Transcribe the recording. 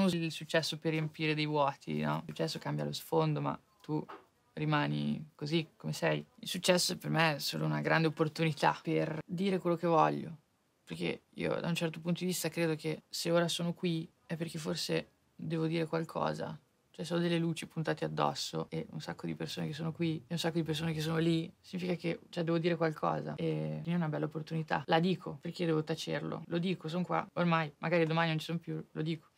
usi il successo per riempire dei vuoti, no? Il successo cambia lo sfondo, ma tu rimani così come sei. Il successo per me è solo una grande opportunità per dire quello che voglio, perché io da un certo punto di vista credo che se ora sono qui è perché forse devo dire qualcosa. Cioè, se ho delle luci puntate addosso e un sacco di persone che sono qui e un sacco di persone che sono lì, significa che, cioè, devo dire qualcosa. E è una bella opportunità. La dico, perché devo tacerlo. Lo dico, sono qua. Ormai, magari domani non ci sono più, lo dico.